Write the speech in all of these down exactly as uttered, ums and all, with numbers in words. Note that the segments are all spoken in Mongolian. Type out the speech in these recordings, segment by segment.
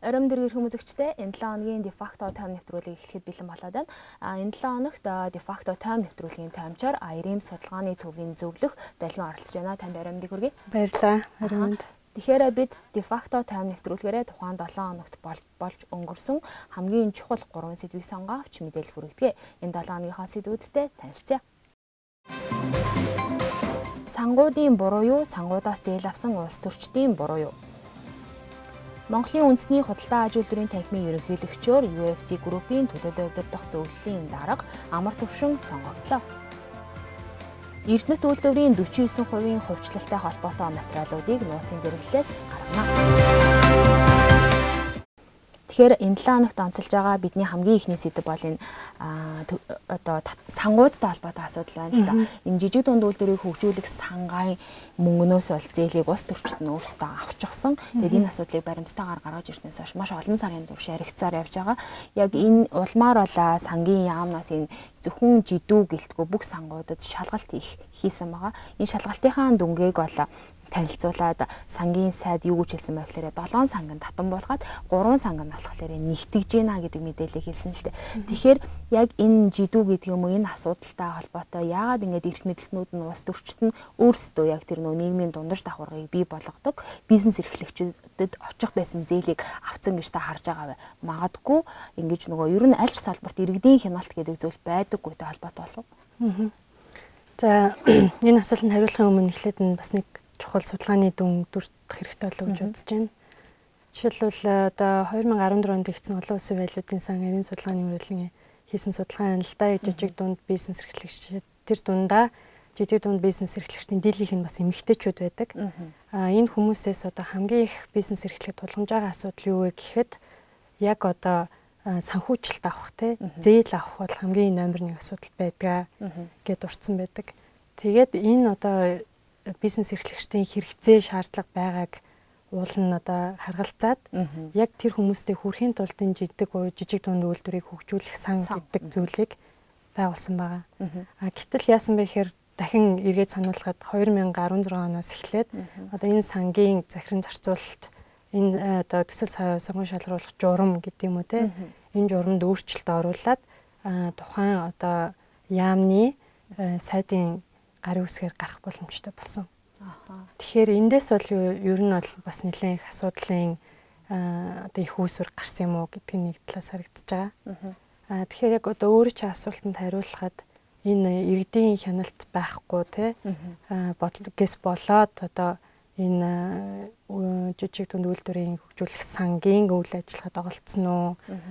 Оройн дэргэр хүмүүзэгчтэй энэ долоо хоногийн дефакто тойм нэвтрүүлгийг эхлэхэд бэлэн болоод байна. А энэ долоо хоногт дефакто тойм нэвтрүүлгийн тоймчоор Аярим судалгааны төвийн зөвлөх долгион оролцож байна. Танд оройн мэндийг хүргэе. Баярлалаа. Оройн мэнд. Тэгэхээр бид дефакто тойм нэвтрүүлгээрээ тухайн долоо хоногт болж өнгөрсөн хамгийн чухал гурван сэдвийг сонгоо авч мэдээлэл хүргэдэг. Энэ долоо хоногийнхаа сэдвүүдтэй танилцъя. Сангуудын буруу юу, сангуудаас зээл авсан улс төрчдийн буруу юу? Монголын үндэсний худалдаа аж үйлдвэрийн танхимын ерөнхийлөгчөөр ю эф си группийн төлөөлөл удирдах зөвлөлийн дарга амар төвшин сонгогдлоо. Эрдэнэт үйлдвэрийн дөрвөн хувийн хувьчлалтай холбоотой материалуудыг нууцын зэрэглэлээс гаргана. Тэгэхээр энэ долоо хоногт онцолж байгаа бидний хамгийн ихний сэдэв бол энэ одоо сангуудтай холбоотой асуудал байна л да. Энэ жижиг дунд үйлдвэрийг хөгжүүлэх сангаан мөнгнөөс бол зээлийг улс төрчид нь өөрсдөө авчихсан. Тэгээд энэ асуудлыг баримтатайгаар гаргаж ирснээс хойш маш олон сарын турш яригцаар явж байгаа. Яг энэ улмаар болоо сангийн яамнаас энэ зөвхөн жидүү гэлтгөө бүх сангуудад шалгалт хийх хийсэн байгаа. Энэ шалгалтынхаа дүнгийг бол танилцуулаад сангийн сайд юу гэж хэлсэн бэ гэхээр долоон санг нь татан буулгаад гурван санг нь болохоор нэгтгэж гинэ гэдэг мэдээлэл хэлсэн л дээ. Тэгэхээр яг энэ жидүү гэдэг юм уу энэ асуудалтай холбоотой яагаад ингэж эрх мэдэлтнүүд нь улс төрчид нь өөрсдөө яг тэр нөө нийгмийн дундаж давхаргыг бий болгодог бизнес эрхлэгчдэд очих байсан зээлийг авцсан гэж та харж байгаа вэ? Магадгүй ингэж нөгөө ер нь аль ч салбарт иргэдийн хяналт гэдэг зүйл байдаггүйтэй холбоотой болов уу? За энэ асуултанд хариулахын өмнө эхлээд нь бас нэг чухал судалгааны дүн дүрт хэрэгтэй болов гэж бодож байна. Жишээлбэл одоо две тысячи дөрвөн онд хийгдсэн олон улсын валютын сан нарийн судалгааны хүрээлэн хийсэн судалгаа юм л да. Жижиг дунд бизнес эрхлэгчид тэр дундаа жижиг дунд бизнес эрхлэгчдийн дийлийнх нь бас эмэгтэйчүүд байдаг. А энэ хүмүүсээс одоо хамгийн их бизнес эрхлэхэд тулгамж байгаа асуудал юу вэ гэхэд яг одоо санхүүжилт авах те зээл авах бол хамгийн номер нэг асуудал байдаг гэд урдсан байдаг. Тэгээд энэ одоо бизнес эрхлэгчдийн хэрэгцээ шаардлага байгааг уул нь одоо харгалзаад яг тэр хүмүүстэй хүрэхийн тулд энэ жижиг жижиг дунд үйлдвэрийг хөгжүүлэх сан гэдэг зүйлийг байгуулсан байгаа. А гэтэл яасан бэ гэхээр дахин эргээд сануулхад две тысячи дөрвөн оноос эхлээд одоо энэ сангийн захиран зарцуулалт энэ одоо төсөл сонгон шалгаруулах журам гэдэг юм уу те энэ журамд өөрчлөлт оруулаад тухайн одоо яамны сайдын гарын үсгээр гарах боломжтой болсон. Тэгэхээр эндээс бол ер нь бол бас нэлээд их асуудлын одоо их үүсвэр гарсан юм уу гэдг нь нэг талаас харагдаж байгаа. Аа тэгэхээр яг одоо өөрөө чи асуултанд хариулахад энэ иргэдийн хяналт байхгүй те бодлогоос болоод одоо энэ жижиг дунд үйлдвэрийн хөгжүүлэх сангийн үйл ажиллагаанд оролцсон уу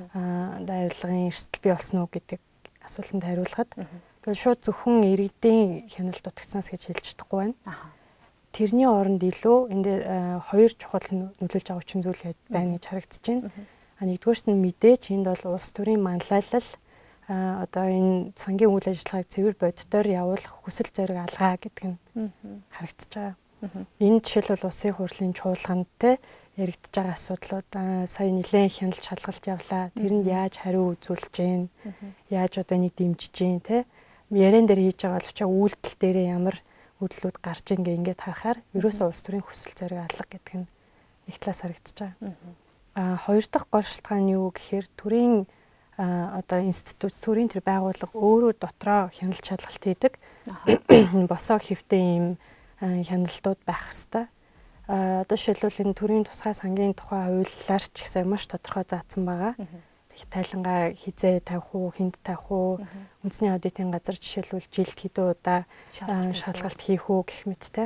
дайрлагын эрсдэл бий болсон уу гэдэг асуултанд хариулахад шууд зөвхөн иргэдийн хяналт дутагцсанаас гэж хэлж чадахгүй байна. Тэрний оронд илүү энд хоёр чухал нөлөөлж байгаа хүчин зүйл байна гэж харагдаж байна. А нэгдүгээрт нь мэдээч энд бол улс төрийн манлайлал одоо энэ сангийн үйл ажиллагааг цэвэр бодитоор явуулах хүсэл зориг алгаа гэдэг нь харагдаж байгаа. Энэ жишээлбэл улсын хурлын чуулганд те яригдж байгаа асуудлууд сая нэлээд хяналт шалгалт явлаа. Тэрэнд яаж хариу үзүүлж гин, яаж одоо энийг дэмжиж гин те яриан дээр хийж байгаа боловч үйлдэл дээрээ ямар үйлдэлүүд гарч ийн гэ ингээд харахаар ерөөсөө улс төрийн хүсэл зориг алга гэдэг нь нэг талаас харагдаж байгаа. А хоёр дахь гол шалтгаан нь юу гэхээр төрийн одоо институт төрийн тэр байгууллага өөрөө дотроо хяналт шалгалт хийдэг. Босоо хэвтэй ийм хяналтууд байх хэвээр. А одоо жишээлбэл энэ төрийн тусгай сангийн тухай хуулиар ч гэсэн маш тодорхой заасан байгаа. Тайлангаа хизээ тавих уу, хүнд тавих уу, үндэсний аудитын газар жишээлбэл жилд хэдэн удаа шалгалт хийх үү гэх мэттэй.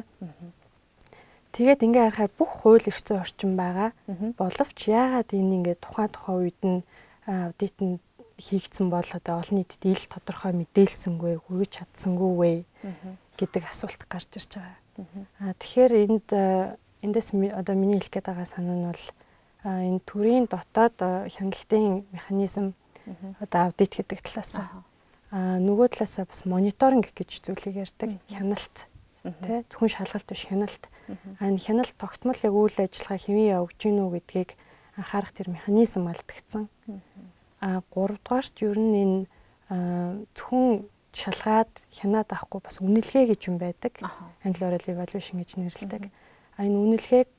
Тэгээд ингээ харахаар бүх хууль эрх зүйн орчин байгаа. Боловч яагаад энэ ингээ тухайн тухайн үед нь аудитанд хийгдсэн бол одоо олон нийтэд ил тодорхой мэдээлсэнгүй, хүргэж чадсангүй вэ гэдэг асуулт гарч ирж байгаа. А тэгэхээр энд эндээс одоо миний хэлэх гээд байгаа санаа нь бол энэ төрийн дотоод хяналтын механизм одоо аудит гэдэг талаас аа нөгөө талаас бас мониторинг гэж зүйлийг ярьдаг. Хяналт тий зөвхөн шалгалт биш хяналт. Аа энэ хяналт тогтмол яг үйл ажиллагаа хэвэн явагдаж гинүү гэдгийг анхаарах тэр механизм алдагдсан. Аа гуравдугаарт ер нь энэ зөвхөн шалгаад хянаад авахгүй бас үнэлгээ гэж юм байдаг. Англиар evaluation гэж нэрлэдэг. А энэ үнэлгээг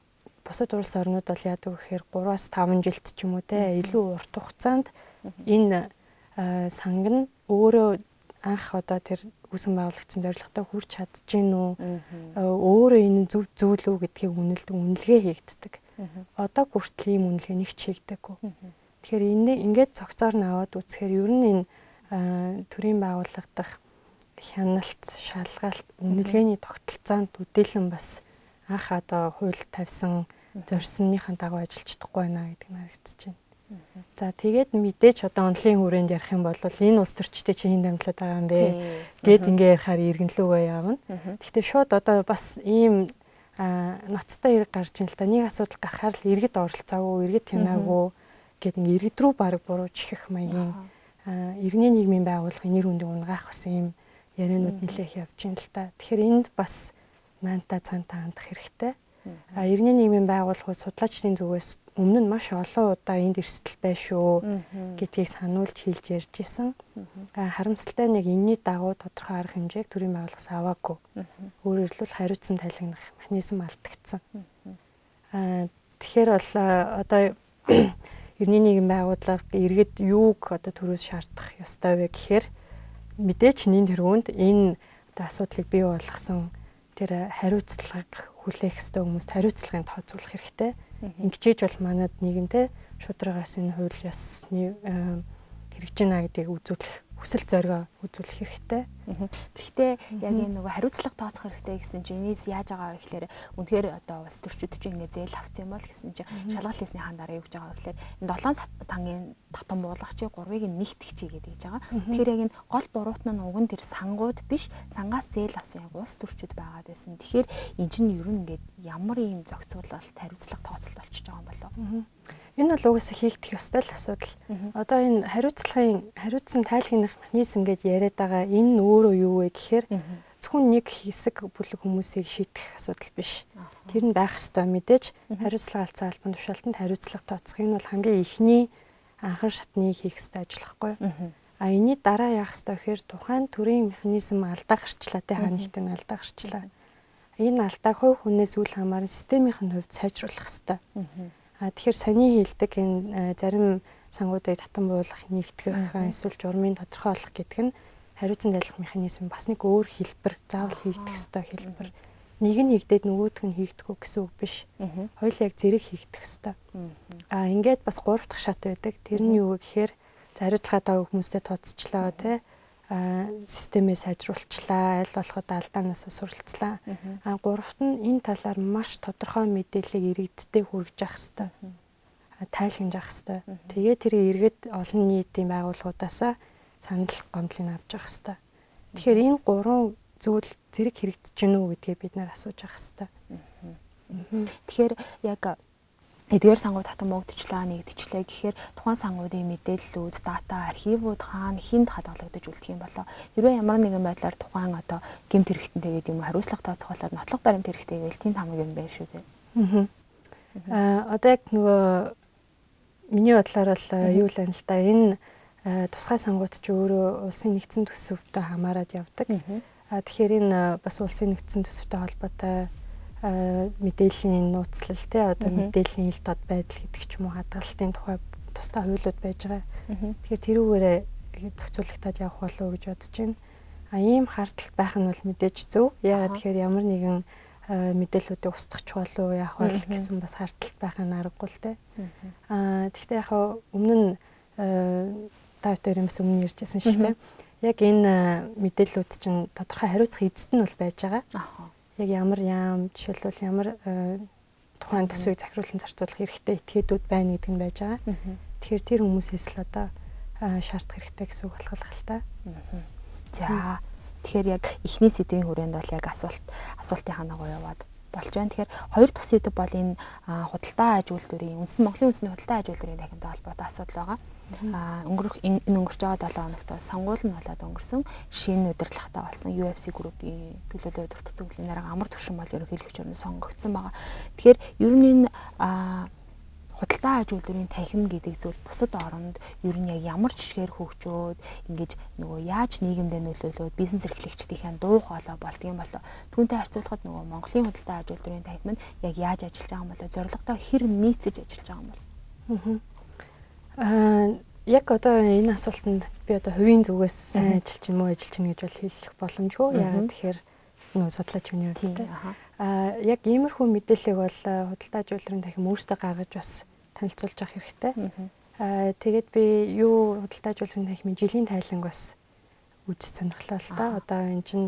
бусад улс орнууд бол яадаг гэхээр гураас таван жилд ч юм уу те илүү урт хугацаанд энэ санг нь өөрөө анх одоо тэр үүсгэн байгуулагдсан зорилготой хүрч чадчихэв үү? Өөрөө энэ зөв зүйл үү гэдгийг үнэлдэг, үнэлгээ хийгддэг. Одоо хүртэл ийм үнэлгээ нэг ч хийгдэггүй. Тэгэхээр энэ ингээд цогцоор нь аваад үзэхээр ер нь энэ төрийн байгууллагадах хяналт, шалгалт, үнэлгээний тогтолцоонд үдээлэн бас анх одоо хууль тавьсан зорьсныхаа дагуу ажиллаж чадахгүй байна гэдэг нь харагдаж байна. За тэгээд мэдээч одоо онлын хүрээнд ярих юм бол энэ улс төрчтэй чи хэн дамжлаад байгаа юм бэ гэд ингээ ярихаар иргэнлүүгээ явна. Гэхдээ шууд одоо бас ийм ноцтой хэрэг гарч ин л та нэг асуудал гарахаар л иргэд оролцоогүй, иргэд тянаагүй гэд ингээ иргэд рүү баг бурууж ихэх маягийн иргэний нийгмийн байгууллагын нэр хүндийг унгаах бас ийм яриануд нэлээх явж ин л та. Тэгэхээр энд бас наанта цаанта хандах хэрэгтэй. А иргэний нийгмийн байгууллагууд судлаачдын зүгээс өмнө нь маш олон удаа энд эрсдэл байна шүү гэдгийг сануулж хэлж ярьж исэн. Харамсалтай нэг энэний дагуу тодорхой арга хэмжээг төрийн байгууллагаас аваагүй. Өөрөөр хэлбэл хариуцсан тайлгнах механизм алдагдсан. Тэгэхээр бол одоо иргэний нийгмийн байгууллага иргэд юуг одоо төрөөс шаардах ёстой вэ гэхээр мэдээч нэн тэргуунд энэ одоо асуудлыг бий болгосон тэр хариуцлага хүлээх ёстой хүмүүст хариуцлагын тооцоолох хэрэгтэй. Ингэжээж бол манад нийгэмтэй шударгаас энэ хууль ёсны хэрэгжиж байна гэдгийг үзүүлэх хүсэл зоригоо үзүүлэх хэрэгтэй. Гэхдээ яг энэ нөгөө хариуцлага тооцох хэрэгтэй гэсэн чинь энэс яаж байгаа вэ гэхээр үнэхээр одоо бас төрчид чинь ингэ зээл авсан юм бол гэсэн чинь шалгалт хийснийхаа дараа юу гэж байгаа вэ гэхээр энэ долоон тангийн татан буулгачийн гурвыг нэгтгэж гэдэг гэж байгаа. Тэгэхээр яг энэ гол буруутан нь уг нь тэр сангууд биш, сангаас зээл авсан яг улс төрчид байгаад байсан. Тэгэхээр эн чинь ер нь ингээд ямар ийм зохицуулалт хариуцлага тооцолт болчихж байгаа юм болов уу? Энэ бол угаасаа хийгдэх ёстой л асуудал. Одоо энэ хариуцлагын хариуцсан тайлгнах механизм гэж яриад байгаа энэ өөрөө юу вэ гэхээр зөвхөн нэг хэсэг бүлэг хүмүүсийг шийдэх асуудал биш. Тэр нь байх ёстой мэдээж хариуцлага алдсан албан тушаалтанд хариуцлага тооцох энэ бол хамгийн ихний анхан шатны хийх ёстой ажил байхгүй юу? А энэний дараа яах ёстой гэхээр тухайн төрийн механизм алдаа гарчлаа тэ ханигт нь алдаа гарчлаа. Энэ алдааг хувь хүнээс үл хамааран системийн хувьд сайжруулах ёстой. Тэгэхээр сони хэлдэг энэ зарим сангуудыг татан буулгах, нэгтгэх, эсвэл журмын тодорхойлох гэдэг нь хариуцсан тайлбар механизм бас нэг өөр хэлбэр, заавал хийгдэх ёстой хэлбэр. Нэг нь хийгдээд нөгөөх нь хийгдэхгүй гэсэн үг биш. Хоёулаа яг зэрэг хийгдэх ёстой. Аа ингээд бас гурав дахь шат байдаг. Тэр нь юу гэхээр хариуцлагаа дааг хүмүүстэй тооцчлаа тий. Аа системээ сайжруулчлаа, аль болоход алдаанаас суралцлаа. Аа гуравт нь энэ талаар маш тодорхой мэдээллийг иргэдтэй хүргэж явах ёстой. Аа тайлгнаж явах ёстой. Тэгээ тэр иргэд олон нийтийн байгууллагуудаас санал гомдлыг авч явах ёстой. Тэгэхээр энэ гурван зүйл зэрэг хэрэгжиж гэнэ үү гэдгийг бид нар асууж явах ёстой. Тэгэхээр яг эдгээр сангууд татан мөгдчлээ, нэгдчихлээ гэхээр тухайн сангуудын мэдээллүүд, дата, архивууд хаана хинд хадгалагдаж үлдэх юм болоо. Хэрвээ ямар нэгэн байдлаар тухайн одоо гэмт хэрэгтэнтэйгээд юм хариуцлага тооцоолоод нотлох баримт хэрэгтэйгээл тийм хамаг юм байна шүү дээ. Аа одоо яг нөгөө миний бодлоор бол юу л байна л да. Энэ тусгай сангууд ч өөрөө улсын нэгдсэн төсөвтэй хамаарат явдаг. Аа тэгэхээр энэ бас улсын нэгдсэн төсөвтэй холбоотой мэдээллийн нууцлал те одоо мэдээллийн ил дод байдал гэдэг ч юм уу хадгалтын тухай тусдаа хуулиуд байж байгаа. Тэгэхээр тэрүүгээрээ зохицуулагдаад явах болов уу гэж бодож байна. А ийм хардталт байх нь бол мэдээж зөв. Яагаад тэгэхээр ямар нэгэн мэдээллүүдийг устгах болов уу яах вэ гэсэн бас хардталт байх нь аргагүй л те. А тэгвэл яг өмнө нь та хоёр юмс өмнө ярьжсэн шиг те. Яг энэ мэдээллүүд чинь тодорхой хариуцах эзэд нь бол байж байгаа. Яг ямар яам жишээлбэл ямар тухайн төсвийг захируулан зарцуулах хэрэгтэй этгээдүүд байна гэдэг нь байж байгаа. Тэгэхээр тэр хүмүүсээс л одоо шаардах хэрэгтэй гэсэн үг болох л та. За тэгэхээр яг эхний сэдвийн хүрээнд бол яг асуулт асуултын ханаагаа яваад болж байна. Тэгэхээр хоёр дахь сэдв бол энэ худалдаа аж үйлдвэрийн үндэсний Монголын үндэсний худалдаа аж үйлдвэрийн дахинтай холбоотой асуудал байгаа. А өнгөрөх энэ өнгөрч байгаа долоо хоногт бол сонгуул нь болоод өнгөрсөн шинэ удирдлагатай болсон ю эф си группийн төлөөлөл удирдах зөвлөлийн дарга амар түвшин бол ерөнхийлөгч орны сонгогдсон байгаа. Тэгэхээр ер нь энэ худалдаа аж үйлдвэрийн танхим гэдэг зүйл бусад оронд ер нь яг ямар жишгээр хөгжөөд ингэж нөгөө яаж нийгэмдээ нөлөөлөөд бизнес эрхлэгчдийн дуу хоолой болдгийм болоо түүнтэй харьцуулахад нөгөө Монголын худалдаа аж үйлдвэрийн танхим нь яг яаж ажиллаж байгаа юм болоо зорилготой хэр нийцэж ажиллаж байгаа юм бол аа яг одоо энэ асуултанд би одоо хувийн зүгээс сайн ажиллаж юм уу ажиллаж чинь гэж бол хэлэх боломжгүй яагаад тэгэхээр нөгөө судлаач хүний хувьд а яг иймэрхүү мэдээллийг бол худалдаа аж үйлдвэрийн танхим өөртөө гаргаж бас танилцуулж авах хэрэгтэй. Аа тэгээд би юу худалдаа аж үйлдвэрийн танхимын жилийн тайланг бас үзэж сонирхлоо л та. Одоо энэ чинь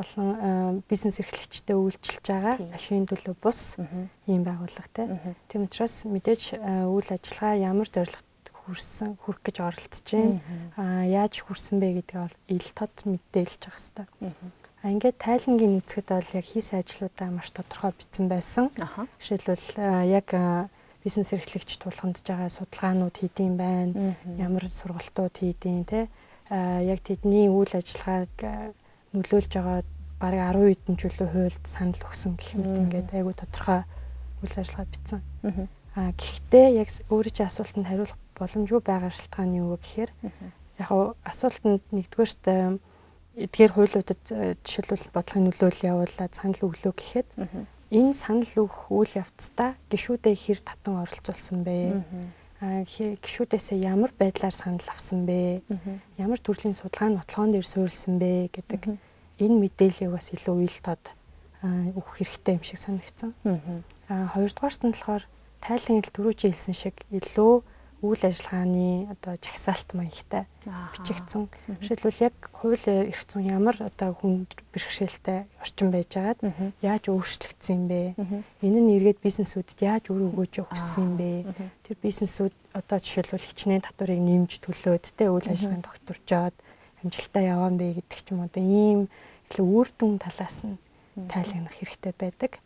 олон бизнес эрхлэгчтэй үйлчилж байгаа ашигын төлөө бус ийм байгууллага тийм учраас мэдээж үйл ажиллагаа ямар зорилгот хүрсэн хүрэх гэж оролдож байна. Аа яаж хүрсэн бэ гэдгийг бол ил тод мэдээлж авах хэрэгтэй. А ингээд тайлангийн үзэхэд бол яг хийсэн ажлуудаа маш тодорхой бичсэн байсан. Жишээлбэл яг бизнес эрхлэгч тулгамдж байгаа судалгаанууд хийдэм байна. Ямар сургалтууд хийдэм те. А яг тэдний үйл ажиллагааг нөлөөлж байгаа бараг арван хэдэн жилийн хуульд санал өгсөн гэх мэт ингээд айгүй тодорхой үйл ажиллагаа бичсэн. А гэхдээ яг өөрөө чи асуултанд хариулах боломжгүй байгаа шалтгаан нь юу гэхээр яг асуултанд нэгдүгээрт эдгээр хуулиудад жишээлбэл бодлогын нөлөөлөл явуулаад санал өглөө гэхэд энэ санал өгөх үйл явцдаа гишүүдээ хэр татан оролцуулсан бэ? Аа гишүүдээсээ ямар байдлаар санал авсан бэ? Ямар төрлийн судалгаа нотлогоон дээр суурилсан бэ гэдэг энэ мэдээллийг бас илүү ил тод өгөх хэрэгтэй юм шиг санагдсан. Аа хоёрдугаарт нь болохоор тайлан ил түрүү чи хэлсэн шиг илүү үйл ажиллагааны одоо жагсаалт маягтай бичигдсэн. Жишээлбэл яг хууль эрх зүйн ямар одоо хүн бэрхшээлтэй орчин байжгаад яаж өөрчлөгдсөн юм бэ? Энэ нь эргээд бизнесүүдэд яаж үр өгөөж өгсөн юм бэ? Тэр бизнесүүд одоо жишээлбэл хичнээн татварыг нэмж төлөөд тэ үйл ажиллагаанд тогтворжоод амжилттай яваан бэ гэдэг ч юм одоо ийм илүү үр дүн талаас нь тайлагнах хэрэгтэй байдаг.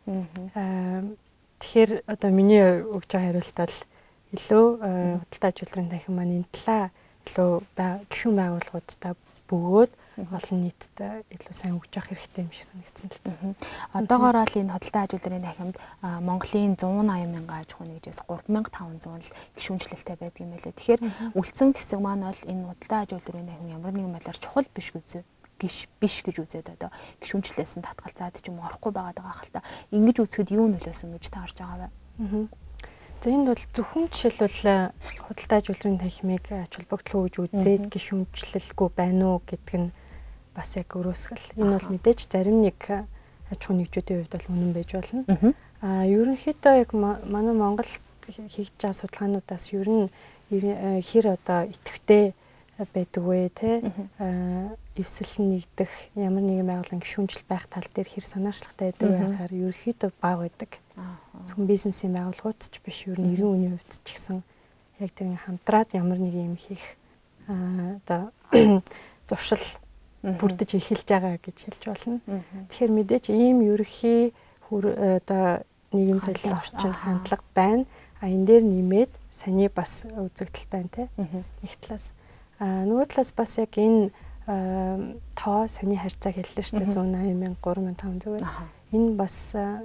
Аа тэгэхээр одоо миний өгж байгаа хариулт бол илүү худалдаа аж үйлдвэрийн танхим маань энэ талаа илүү гишүүн байгууллагуудтай бөгөөд олон нийтэд илүү сайн өгж явах хэрэгтэй юм шиг санагдсан л та. Одоогоор бол энэ худалдаа аж үйлдвэрийн танхимд Монголын one eighty мянган аж ахуйн нэгжээс three thousand five hundred л гишүүнчлэлтэй байдаг юм байлээ. Тэгэхээр үлдсэн хэсэг маань бол энэ худалдаа аж үйлдвэрийн танхим ямар нэгэн байдлаар чухал биш гэж гиш биш гэж үзээд одоо гишүүнчлэлээс нь татгалзаад ч юм орохгүй байгаад байгаа хэл та. Ингэж үзэхэд юу нөлөөсөн гэж та харж байгаа вэ? За энд бол зөвхөн жишээлбэл худалдаа аж үйлдвэрийн танхимыг ач холбогдлоо гэж үзээд гишүүнчлэлгүй байна уу гэдэг нь бас яг өрөөсгөл. Энэ бол мэдээж зарим нэг аж ахуйн нэгжүүдийн хувьд бол үнэн байж болно. Аа ерөнхийдөө яг манай Монголд хийж байгаа судалгаануудаас ер нь хэр одоо идэвхтэй байдаг вэ те эвсэл нэгдэх ямар нэгэн байгууллагын гишүүнжил байх тал дээр хэр санаачлагтай байдаг вэ гэхээр ерөнхийдөө бага байдаг. Зөвхөн бизнесийн байгууллагууд ч биш ер нь эрийн үеийн хувьд ч гэсэн яг тэр хамтраад ямар нэг юм хийх одоо зуршил бүрдэж эхэлж байгаа гэж хэлж болно. Тэгэхээр мэдээч ийм ерөнхий одоо нийгэм соёлын орчин хандлага байна. А энэ дээр нэмээд саний бас үзэгдэл байна те. Нэг талаас а нөгөө талаас бас яг энэ тоо саний харьцааг хэллээ шүү дээ one eighty мянга three thousand five hundred. Энэ бас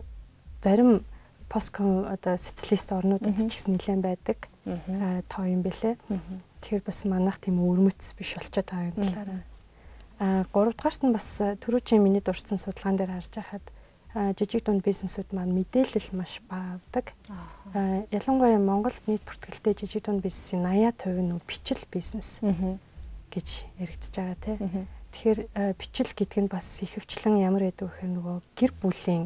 зарим постком одоо социалист орнуудад ч гэсэн нэлээд байдаг тоо юм бэлээ. Тэгэхээр бас манайх тийм өрмөц биш болчиход байгаа юм талаараа. А гуравдугаарт нь бас түрүү чи миний дурдсан судалгаан дээр харж байхад жижиг дунд бизнесүүд маань мэдээлэл маш бага авдаг. Ялангуяа Монголд нийт бүртгэлтэй жижиг дунд бизнесийн eighty percent нь бичил бизнес гэж яригдж байгаа тийм. Тэгэхээр бичил гэдэг нь бас ихэвчлэн ямар гэдэг вэ гэхээр нөгөө гэр бүлийн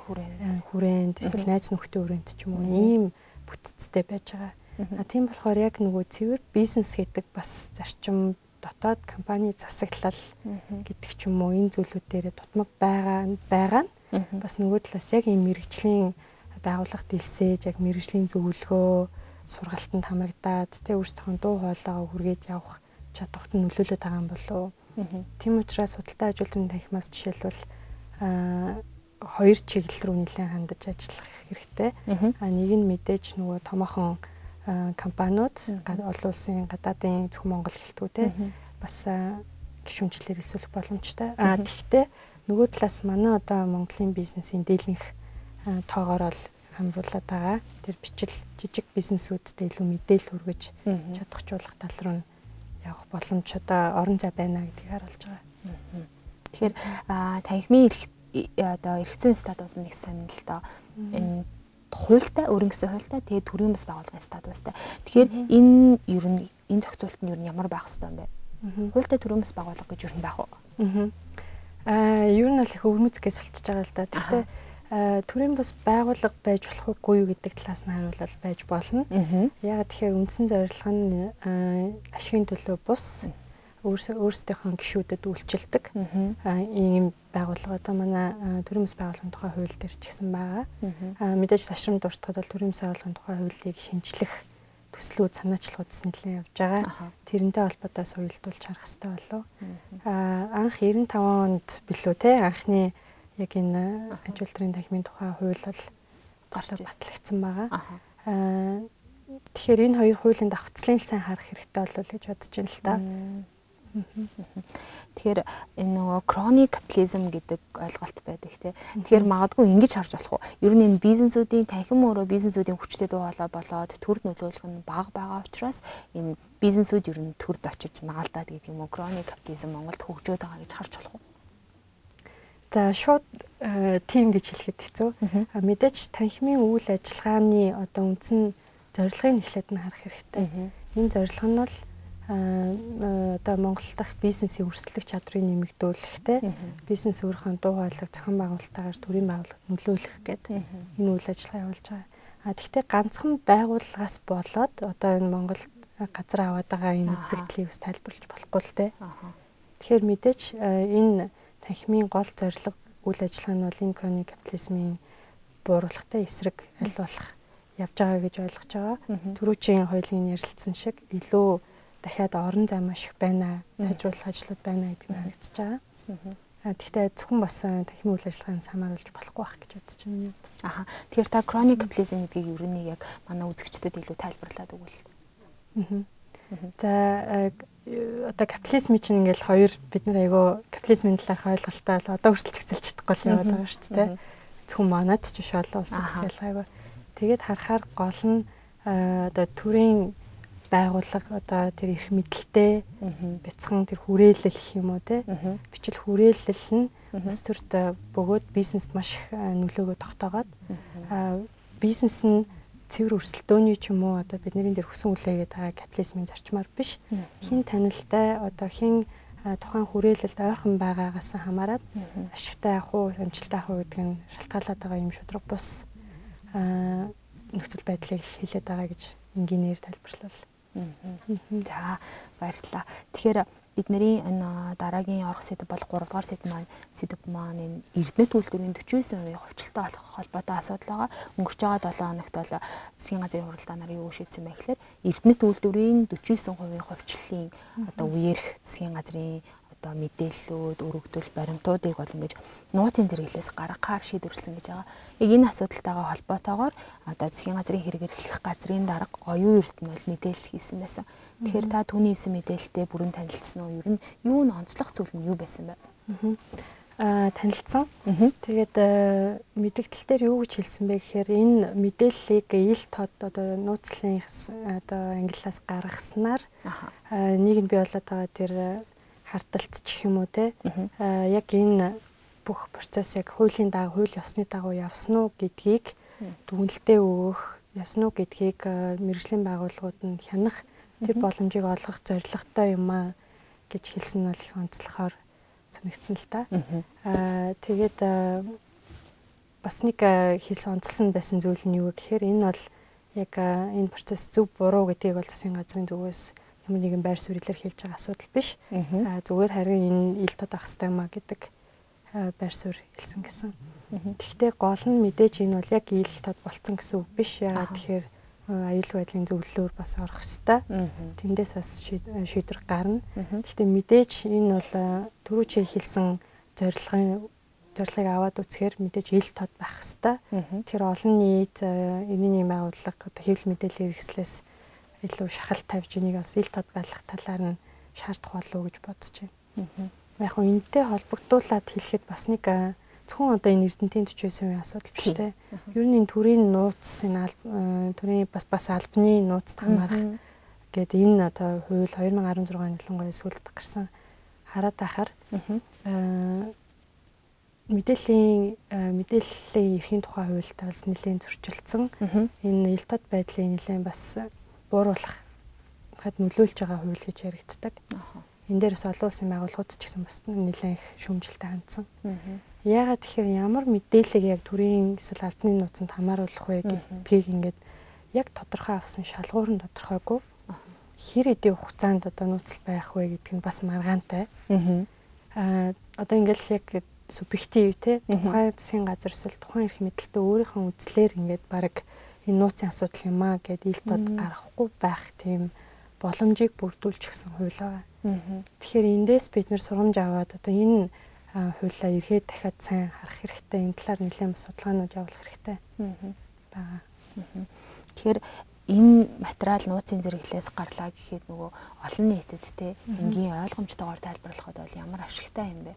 хүрээнд эсвэл найз нөхдийн хүрээнд ч юм уу ийм бүтцтэй байж байгаа. А тийм болохоор яг нөгөө цэвэр бизнес гэдэг бас зарчим дотоод компани засаглал гэдэг ч юм уу энэ зүйлүүд дээр тутмаг байгаа байгаа нь бас нөгөө талаас яг ийм мэрэгжлийн байгууллага дэлсээж яг мэрэгжлийн зөвлөгөө сургалтанд хамрагдаад тэ өөрсдийнхөө дуу хоолойгоо хүргээд явах чадварт нөлөөлөд байгаа юм болов уу? Тийм учраас худалдаа аж үйлдвэрийн танхимаас жишээлбэл хоёр чиглэл рүү нэлээд хандаж ажиллах хэрэгтэй. А нэг нь мэдээж нөгөө томоохон компаниуд олон улсын гадаадын зөвхөн Монгол хэлтгүү те бас гишүүнчлэлээр эсвэлэх боломжтой. А тэгвэл нөгөө талаас манай одоо Монголын бизнесийн дийлэнх тоогоор бол хамруулаад байгаа. Тэр бичил жижиг бизнесүүдэд илүү мэдээлэл хүргэж чадахжуулах тал руу явах боломж одоо орон зай байна гэдгийг харуулж байгаа. Тэгэхээр танхимын одоо эрх зүйн статус нэг сонир л доо. Энэ хуультай өөрийн гэсэн хуультай тэгээд төрийн бас байгууллагын статустай. Тэгэхээр энэ ер нь энэ зохицуулт нь ер нь ямар байх хэвээр юм бэ? Хуультай төрийн бас байгууллага гэж ер нь байх уу? Аа ер нь л их өвмөцгээс болчихж байгаа л да. Гэхдээ төрийн бас байгууллага байж болох уугүй юу гэдэг талаас нь харуулбал байж болно. Яг тэгэхээр үндсэн зорилго нь ашигын төлөө бус өөрсдийнхөө гишүүдэд үйлчилдэг ийм байгууллага одоо манай төрийн бас байгууллагын тухай хууль дээр ч гэсэн байгаа. Мэдээж ташрамд дуртахад бол төрийн бас байгууллагын тухай хуулийг шинжлэх төслүүд санаачлалуудс нэлээд явж байгаа. Тэрнтэй холбоотой соёлдуулж харах хэрэгтэй болов. Анх девяносто таван онд билүү те анхны яг энэ ажил төрийн танхимын тухай хууль бол тусдаа батлагдсан байгаа. Тэгэхээр энэ хоёр хуулийн давхцлын сайн харах хэрэгтэй болов гэж бодож байна л да. Тэгэхээр энэ нөгөө кроник капитализм гэдэг ойлголт байдаг тийм. Тэгэхээр магадгүй ингэж харж болох уу? Ер нь энэ бизнесүүдийн танхим өөрөө бизнесүүдийн хүчтэй дуу хоолой болоод төрд нөлөөлөх нь бага байгаа учраас энэ бизнесүүд ер нь төрд очиж наалдаад гэдэг юм уу? Кроник капитализм Монголд хөгжөөд байгаа гэж харж болох уу? За шууд тим гэж хэлэхэд хэцүү. Мэдээж танхимын үйл ажиллагааны одоо үндсэн зорилгыг эхлээд нь харах хэрэгтэй. Энэ зорилго нь бол одоо Монгол дахь бизнесийн өрсөлдөх чадрыг нэмэгдүүлэхтэй бизнес өөрийнхөө дуу хоолойг зохион байгуулалтаар төрийн байгууллагад нөлөөлөх гэдэг энэ үйл ажиллагаа явуулж байгаа. А тэгвэл ганцхан байгууллагаас болоод одоо энэ Монголд газар аваад байгаа энэ үзэгдлийг бас тайлбарлаж болохгүй л дээ. Тэгэхээр мэдээж энэ танхимын гол зорилго үйл ажиллагаа нь бол энэ кроник капитализмын бууруулахтай эсрэг аль болох явж байгаа гэж ойлгож байгаа. Түрүүчийн хоёулын ярилцсан шиг илүү дахиад орон зай маш их байна, сайжруулах ажлууд байна гэдэг нь харагдаж байгаа. Тэгэхдээ зөвхөн бас танхимын үйл ажиллагааг самааруулж болохгүй байх гэж бодож байна. Аха. Тэгэхээр та кроник капитализм гэдгийг ер нь яг манай үзэгчдэд илүү тайлбарлаад өгвөл. За одоо капитализм чинь ингээл хоёр бид нар айгаа капитализмын талаарх ойлголтоо л одоо хүртэл цэцэлж чадахгүй л яваад байгаа шүү дээ. Зөвхөн манад ч биш олон улсад ялгаагүй. Тэгээд харахаар гол нь одоо төрийн байгууллага одоо тэр эрх мэдэлтэй бяцхан тэр хүрээлэл гэх юм уу те бичил хүрээлэл нь бас төрд бөгөөд бизнест маш их нөлөөгөө тогтоогоод бизнес нь цэвэр өрсөлдөөний ч юм уу одоо бидний дээр хүсэн үлээгээд байгаа капитализмын зарчмаар биш хин танилтай одоо хин тухайн хүрээлэлд ойрхон байгаагаас хамаарат ашигтай явах уу амжилттай явах уу гэдэг нь шалтгаалаад байгаа юм шудраг бус нөхцөл байдлыг хэлээд байгаа гэж энгийнээр тайлбарлал. За баярлалаа. Тэгэхээр бидний энэ дараагийн орох сэдв бол гурав дахь сэдв маань сэдв маань энэ Эрдэнэт үйлдвэрийн forty-nine percent хувьчлалтай болох холбоотой асуудал байгаа. Өнгөрч байгаа seven хоногт бол засгийн газрын хуралдаа нар юу шийдсэн бэ гэхээр Эрдэнэт үйлдвэрийн forty-nine percent хувьчлалын одоо үеэрх засгийн газрын одоо мэдээллүүд, өргөдөл баримтуудыг бол ингэж нууцын зэрэглээс гаргахаар шийдвэрлсэн гэж байгаа. Яг энэ асуудалтайгаа холбоотойгоор одоо засгийн газрын хэрэг эрхлэх газрын дарга оюун эрдэнэ бол мэдээлэл хийсэн байсан. Тэгэхээр та түүний хийсэн мэдээлэлтэй бүрэн танилцсан уу? Ер нь юу н онцлог зүйл нь юу байсан бэ? Аа танилцсан. Тэгээд мэдээлэл дээр юу гэж хэлсэн бэ гэхээр энэ мэдээллийг ил тод одоо нууцлын одоо ангиллаас гаргаснаар нийгэм бий болоод байгаа тэр харталт ч юм уу те яг энэ бүх процесс яг хуулийн дагуу хууль ёсны дагуу явсан уу гэдгийг дүгнэлтээ өгөх явсан уу гэдгийг мэргэжлийн байгууллагууд нь хянах тэр боломжийг олгох зорилготой юм а гэж хэлсэн нь бол их онцлохоор санагдсан л та. Аа тэгээд бас нэг хэлсэн онцлсон байсан зүйл нь юу гэхээр энэ бол яг энэ процесс зөв буруу гэдгийг бол засгийн газрын зүгээс ямар нэгэн байр суурьлаар хэлж байгаа асуудал биш. Аа зүгээр харин энэ ил тод ах хэвээр маа гэдэг байр суурь хэлсэн гэсэн. Тэгэхдээ гол нь мэдээж энэ бол яг ил тод болцсон гэсэн үг биш. Яагаад тэгэхээр аюулгүй байдлын зөвлөлөөр бас орох хэвээр. Тэндээс бас шийдвэр гарна. Гэхдээ мэдээж энэ бол түрүүчээ хэлсэн зорилгын зорилгыг аваад үзэхээр мэдээж ил тод байх хэвээр. Тэр олон нийт энэний байгууллага одоо хэвлэл мэдээллийн хэрэгслээс илүү шахалт тавьж энийг бас ил тод байлгах талаар нь шаардах болов уу гэж бодож байна. Яг хөө энэтэй холбогдуулаад хэлэхэд бас нэг зөвхөн одоо энэ эрдэнтийн сорок percent асуудал биш те. Ер нь энэ төрийн нууц энэ төрийн бас бас албаны нууцд хамаарах гэдэг энэ одоо хууль two thousand sixteen ялангуяа сүүлд гарсан хараад байхаар мэдээллийн мэдээллийн эрхийн тухай хуультай бас нэлээд зөрчилдсөн. Энэ ил тод байдлыг нэлээд бас бууруулах хад нөлөөлж байгаа хууль гэж яригддаг. Энэ дээрээс олон улсын байгууллагууд ч гэсэн бас нэлээд их шүүмжлэлтэй хандсан. Яагаад тэгэхээр ямар мэдээллийг яг төрийн эсвэл албаны нууцанд хамааруулах вэ гэдгийг ингээд яг тодорхой авсан шалгуур нь тодорхойгүй. Хэр эдийн хугацаанд одоо нууцлал байх вэ гэдг нь бас маргаантай. Аа одоо ингээд яг субъектив те тухайн засгийн газар эсвэл тухайн эрх мэдэлтэй өөрийнхөө үзлээр ингээд баг энэ нууцын асуудал юм аа гэд ил тод гаргахгүй байх тийм боломжийг бүрдүүлж өгсөн хууль байгаа. Тэгэхээр эндээс бид нэр сургамж аваад одоо энэ хуулиа эргээд дахиад сайн харах хэрэгтэй. Энэ талаар нэлээд бас судалгаанууд явуулах хэрэгтэй байгаа. Тэгэхээр энэ материал нууцын зэрэглээс гарлаа гэхэд нөгөө олон нийтэд те энгийн ойлгомжтойгоор тайлбарлахад бол ямар ашигтай юм бэ?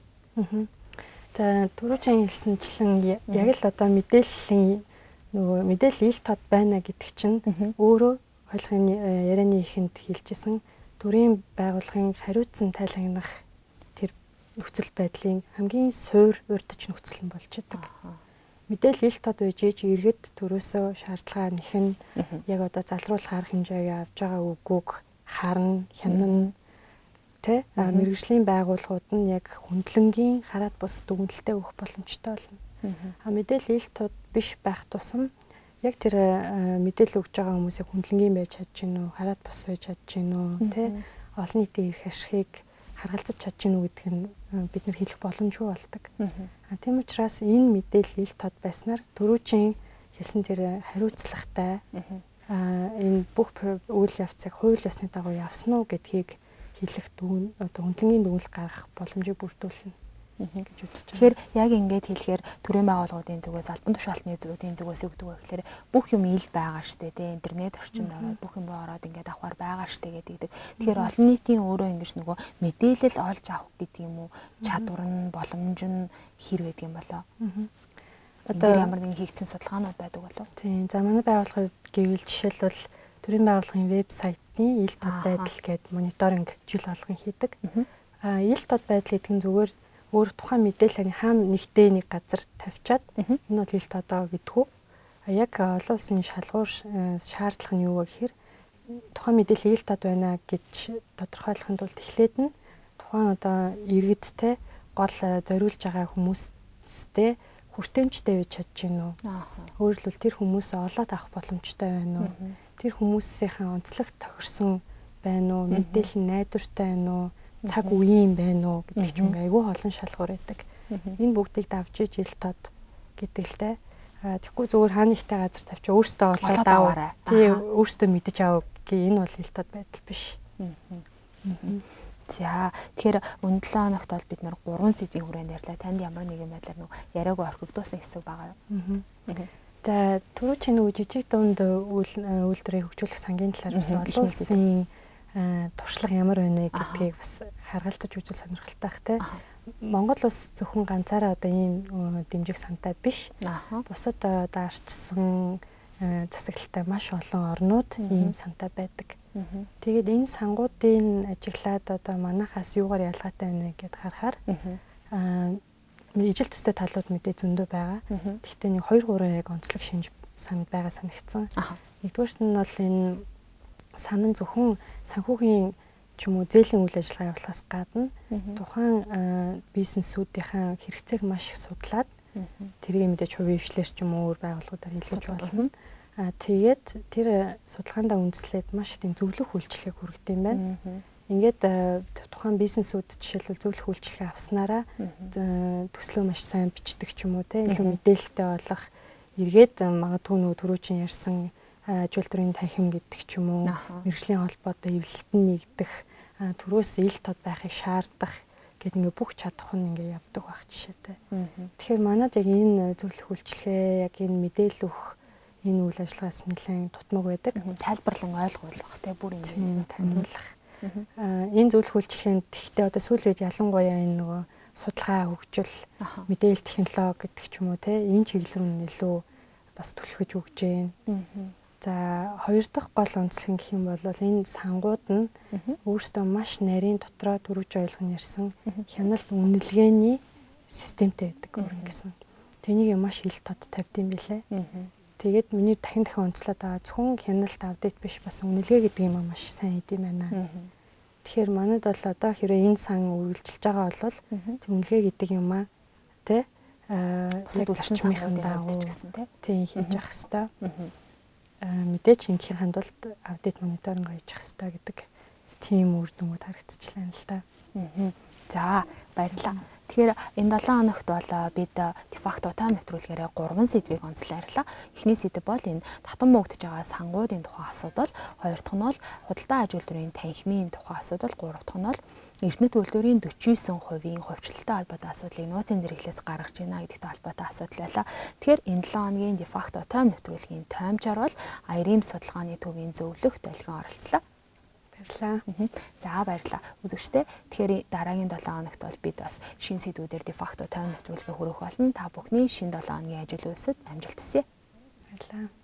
За түрүүчэн хэлсэнчлэн яг л одоо мэдээллийн нөгөө мэдээлэл ил тод байна гэдэг чинь өөрөө ойлгохын ярианы ихэнд хэлжсэн төрийн байгууллагын хариуцсан тайлагнах тэр нөхцөл байдлын хамгийн суур урьдч нөхцөл нь болж байгаа. Мэдээлэл ил тод байж ээж иргэд төрөөсөө шаардлага нэхэн яг одоо залруулах арга хэмжээгээ авж байгаа үгүйг харна, хянана тэ мэргэжлийн байгууллагууд нь яг хөндлөнгийн хараад бус дүгнэлтээ өгөх боломжтой болно. А мэдээлэл ил тод биш байх тусам яг тэр мэдээлэл өгж байгаа хүмүүсийг хөндлөнгийн байж чадж гин үү, хараад бус байж чадж гин үү, тэ олон нийтийн эрх ашигыг харгалзаж чадж гин үү гэдг нь бид нар хэлэх боломжгүй болдог. А тийм учраас энэ мэдээлэл ил тод байснаар түрүүчийн хэлсэн тэр хариуцлагатай энэ бүх үйл явцыг хууль ёсны дагуу явсан уу гэдгийг хэлэх дүн одоо хөндлөнгийн дүгнэлт гаргах боломжийг бүрдүүлнэ гэж үзэж байна. Тэгэхээр яг ингэж хэлэхээр төрийн байгууллагуудын зүгээс албан тушаалтны зүгээс зүгээс өгдөг байх. Тэгэхээр бүх юм ил байгаа штэ тий интернет орчинд ороод бүх юм ороод ингээд авахар байгаа штэ гэдэг. Тэгэхээр олон нийтийн өөрөө ингэж нөгөө мэдээлэл олж авах гэдэг юм уу чадвар нь боломж нь хэр байдаг юм болоо. Одоо ямар нэгэн хийгдсэн судалгаанууд байдаг болов? Тийм. За манай байгууллагын гэвэл жишээлбэл төрийн байгууллагын вебсайтны ил тод байдал гэдэг мониторинг жил болгон хийдэг. А ил тод байдал гэдэг нь зүгээр өөр тухайн мэдээллийн хаана нэгтэй нэг газар тавьчаад энэ бол ил тодоо гэдгүү. А яг олон улсын шалгуур шаардлага нь юу вэ гэхээр тухайн мэдээлэл ил тод байна гэж тодорхойлохын тулд эхлээд нь тухайн одоо иргэдтэй гол зориулж байгаа хүмүүстэй хүртээмжтэй байж чадж гин үү. Өөрөлдвөл тэр хүмүүсээ олоод авах боломжтой байна уу? Тэр хүмүүсийн онцлог тохирсон байна уу? Мэдээлэл нь найдвартай байна уу? Цаг үеийн байна уу гэдэг ч юм айгүй олон шалгуур байдаг. Энэ бүгдийг давж иж ил тод гэдэг л те. Тэгэхгүй зүгээр хаанихтай газар тавьчаа өөртөө олоод аваа. Тий өөртөө мэдэж аваа гэх энэ бол ил тод байдал биш. За тэгэхээр өнөө долоо хоногт бол бид нар гурван сэдвийн хүрээнд ярьлаа. Танд ямар нэгэн байдлаар нөө яриаг орхигдуулсан хэсэг байгаа юу? За түрүү чинь жижиг дунд үйлдвэрийг хөгжүүлэх сангийн талаар бас олон улсын туршлага ямар байна вэ гэдгийг бас харгалзаж үзэл сонирхолтой бах те. Монгол улс зөвхөн ганцаараа одоо ийм дэмжих сантай биш. Бусад одоо арчсан засаглалтай маш олон орнууд ийм сантай байдаг. Тэгээд энэ сангуудын ажиглаад одоо манайхаас юугаар ялгаатай байна вэ гэдээ харахаар ижил төстэй талууд мэдээ зөндөө байгаа. Гэхдээ нэг хоёр гурван яг онцлог шинж санд байгаа санагдсан. Нэгдүгээрт нь бол энэ санан зөвхөн санхүүгийн ч юм уу зээлийн үйл ажиллагаа явуулахаас гадна тухайн бизнесүүдийн хэрэгцээг маш их судлаад тэрийг мэдээж хувийн хвшлэр ч юм уу өөр байгууллагуудаар хэлж болно. А тэгээд тэр судалгаандаа үндэслээд маш их тийм зөвлөх үйлчлэгийг хүргэдэг юм байна. Ингээд тухайн бизнесүүд жишээлбэл зөвлөх үйлчлэгээ авснараа төслөө маш сайн бичдэг ч юм уу те илүү мэдээлэлтэй болох эргээд магадгүй нөгөө түрүүчин ярьсан аж үйлдвэрийн танхим гэдэг ч юм уу мэргэжлийн холбоотой эвлэлтэн нэгдэх түрүүс ил тод байхыг шаардах гэдэг ингээ бүх чадах нь ингээ явдаг байх жишээтэй. Тэгэхээр манад яг энэ зөвлөх үйлчлэгээ яг энэ мэдээлэл өгөх энэ үйл ажиллагаас нэлээд тутмаг байдаг. Тайлбарлан ойлгуулах те бүр ингэ таниулах. Энэ зөвлөх үйлчлэгэнд тэгтээ одоо сүүл үед ялангуяа энэ нөгөө судалгаа хөгжил, мэдээлэл технологи гэдэг ч юм уу те энэ чиглэл рүү илүү бас түлхэж өгч जैन. За хоёр дахь гол онцлог гэх юм бол энэ сангууд нь өөрсдөө маш нарийн дотроо дөрвж ойлгон ярьсан хяналт үнэлгээний системтэй байдаг өөрөөр гэсэн. Тэнийг маш ил тод тавьдсан билээ. Тэгээд миний дахин дахин онцлоод байгаа зөвхөн хяналт апдейт биш бас үнэлгээ гэдэг юм маш сайн идэм байна. Тэгэхээр манайд бол одоо хэрэг энэ сан үргэлжилж байгаа бол үнэлгээ гэдэг юм аа тий яг зарчмынхан дагуу тий хийж явах хэрэгтэй. Мэдээч ингийн хандвалт апдейт мониторинг хийж явах хэрэгтэй гэдэг тийм үр дүнгууд харагдчихлаа л да. За баярлалаа. Тэгэхээр энэ долоон хоногт бол бид дефакто тайм нэвтрүүлгээрээ гурван сэдвийг онцлоорлаа. Эхний сэдв бол энэ татан мөгдөж байгаа сангуудын тухай асуудал, хоёр дахь нь бол худалдаа аж үйлдвэрийн танхимын тухай асуудал, гурав дахь нь бол эрдэнэт үйлдвэрийн дөрвөн хувийн хувьчлалтай холбоотой асуудлыг нууцын зэрэглээс гаргаж байна гэдэгтэй холбоотой асуудал байлаа. Тэгэхээр энэ долоон хоногийн дефакто тайм нэвтрүүлгийн таймчаар бол Айрим судалгааны төвийн зөвлөх долгион оролцлоо. Баярлалаа. За баярлалаа. Үзэгчдээ тэгэхээр дараагийн долоон хоногт бол бид бас шинэ сэдвүүдээр дефакто тайм нэвтрүүлгээ хүргэх болно. Та бүхний шинэ долоон хоногийн ажил үйлсэд амжилт хүсье. Баярлалаа.